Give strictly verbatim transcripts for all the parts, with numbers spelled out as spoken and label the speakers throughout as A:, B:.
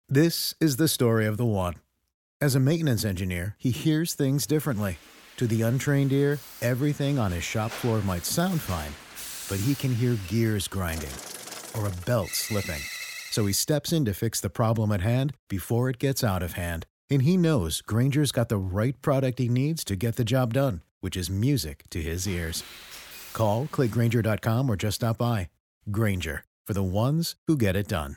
A: This is the story of the one. As a maintenance engineer, he hears things differently. To the untrained ear, everything on his shop floor might sound fine, but he can hear gears grinding or a belt slipping. So he steps in to fix the problem at hand before it gets out of hand. And he knows Grainger's got the right product he needs to get the job done, which is music to his ears. Call, click Grainger dot com or just stop by. Grainger, for the ones who get it done.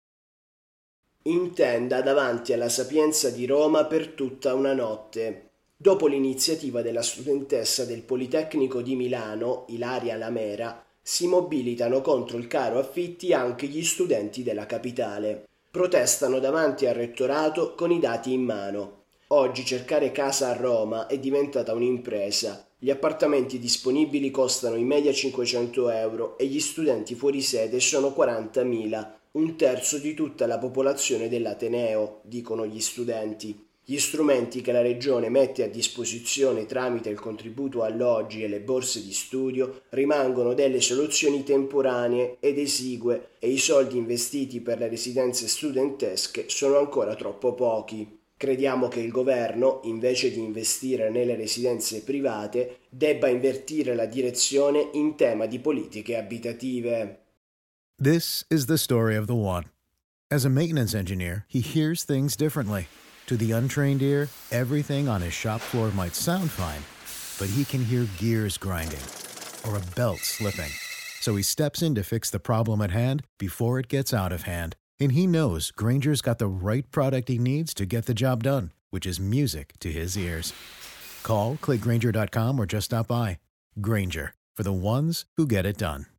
B: In tenda davanti alla Sapienza di Roma per tutta una notte. Dopo l'iniziativa della studentessa del Politecnico di Milano, Ilaria Lamera, si mobilitano contro il caro affitti anche gli studenti della capitale. Protestano davanti al rettorato con i dati in mano. Oggi cercare casa a Roma è diventata un'impresa. Gli appartamenti disponibili costano in media cinquecento euro e gli studenti fuori sede sono quarantamila, un terzo di tutta la popolazione dell'Ateneo, dicono gli studenti. Gli strumenti che la Regione mette a disposizione tramite il contributo alloggi e le borse di studio rimangono delle soluzioni temporanee ed esigue e i soldi investiti per le residenze studentesche sono ancora troppo pochi. Crediamo che il governo, invece di investire nelle residenze private, debba invertire la direzione in tema di politiche abitative.
A: This is the story of the one. As a maintenance engineer, he hears things differently. To the untrained ear, everything on his shop floor might sound fine, but he can hear gears grinding or a belt slipping. So he steps in to fix the problem at hand before it gets out of hand. And he knows Grainger's got the right product he needs to get the job done, which is music to his ears. Call, click Grainger dot com or just stop by. Grainger, for the ones who get it done.